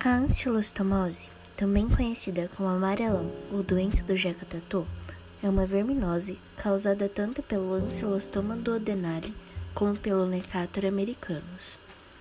A ancilostomose, também conhecida como amarelão ou doença do Jeca-Tatu, é uma verminose causada tanto pelo Ancylostoma duodenale como pelo Necator americanus.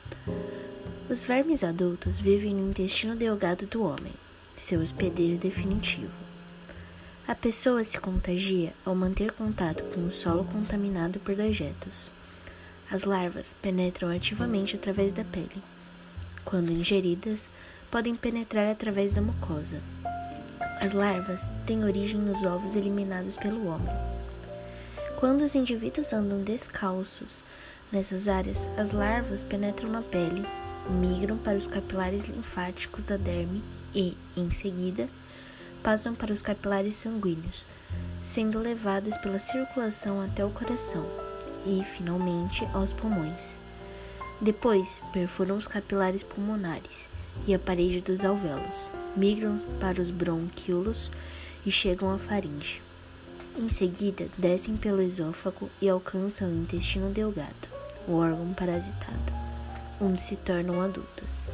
Os vermes adultos vivem no intestino delgado do homem, seu hospedeiro definitivo. A pessoa se contagia ao manter contato com o solo contaminado por dejetos. As larvas penetram ativamente através da pele. Quando ingeridas, podem penetrar através da mucosa. As larvas têm origem nos ovos eliminados pelo homem. Quando os indivíduos andam descalços nessas áreas, as larvas penetram na pele, migram para os capilares linfáticos da derme e, em seguida, passam para os capilares sanguíneos, sendo levadas pela circulação até o coração e, finalmente, aos pulmões. Depois, perfuram os capilares pulmonares e a parede dos alvéolos, migram para os brônquios e chegam à faringe. Em seguida, descem pelo esôfago e alcançam o intestino delgado, o órgão parasitado, onde se tornam adultas.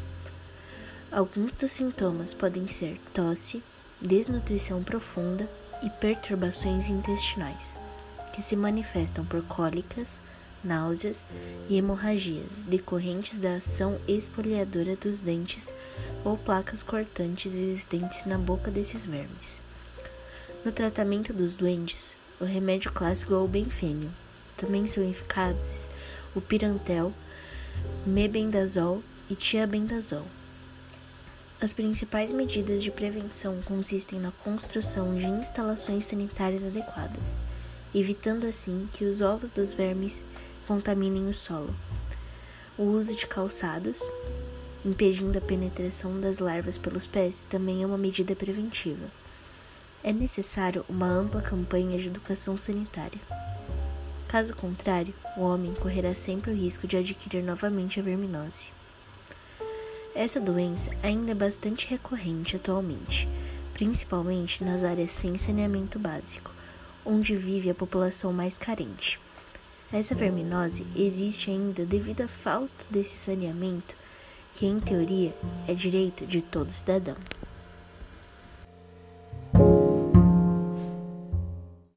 Alguns dos sintomas podem ser tosse, desnutrição profunda e perturbações intestinais, que se manifestam por cólicas, náuseas e hemorragias decorrentes da ação esfoliadora dos dentes ou placas cortantes existentes na boca desses vermes. No tratamento dos doentes, o remédio clássico é o benfênio. Também são eficazes o pirantel, mebendazol e tiabendazol. As principais medidas de prevenção consistem na construção de instalações sanitárias adequadas, evitando assim que os ovos dos vermes contaminem o solo. O uso de calçados, impedindo a penetração das larvas pelos pés, também é uma medida preventiva. É necessário uma ampla campanha de educação sanitária. Caso contrário, o homem correrá sempre o risco de adquirir novamente a verminose. Essa doença ainda é bastante recorrente atualmente, principalmente nas áreas sem saneamento básico, onde vive a população mais carente. Essa verminose existe ainda devido à falta desse saneamento, que em teoria é direito de todo cidadão.